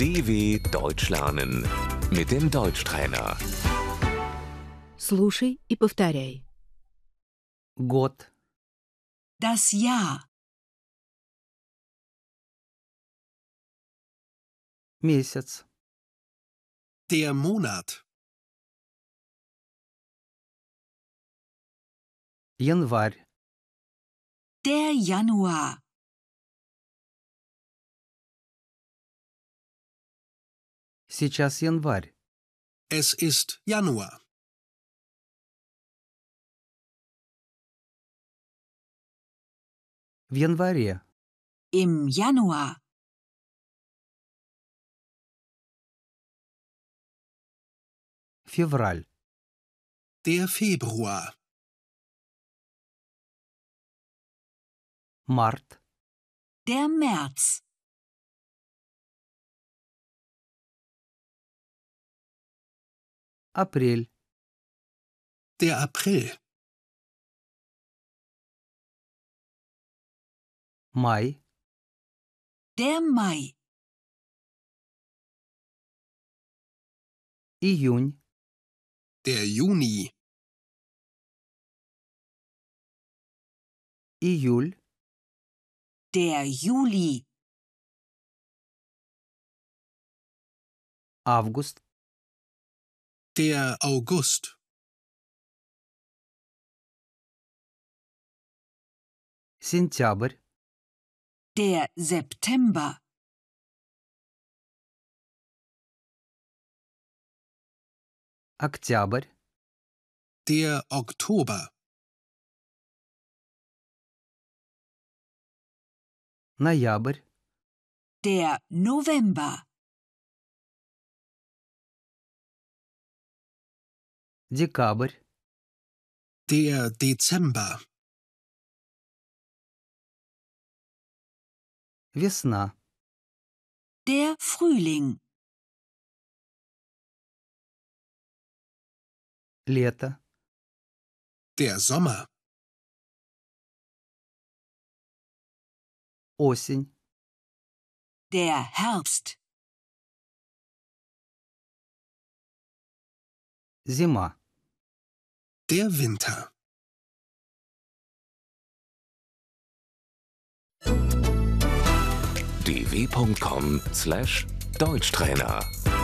DW Deutsch lernen mit dem Deutschtrainer. Слушай и повторяй. Год, Das Jahr, месяц, Der Monat. январь, der Januar, сейчас январь, Es ist Januar. в январе, im Januar, февраль, Der Februar. март, der März, апрель, Der April. май, der Mai, июнь, Der Juni. июль, der Juli, август, Der August. сентябрь, der September, октябрь, Der Oktober. ноябрь, der November, декабрь, Der Dezember. весна, der Frühling, лето, Der Sommer. осень, der Herbst, зима. Der Winter. dw.com/Deutschtrainer